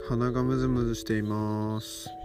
鼻がムズムズしています。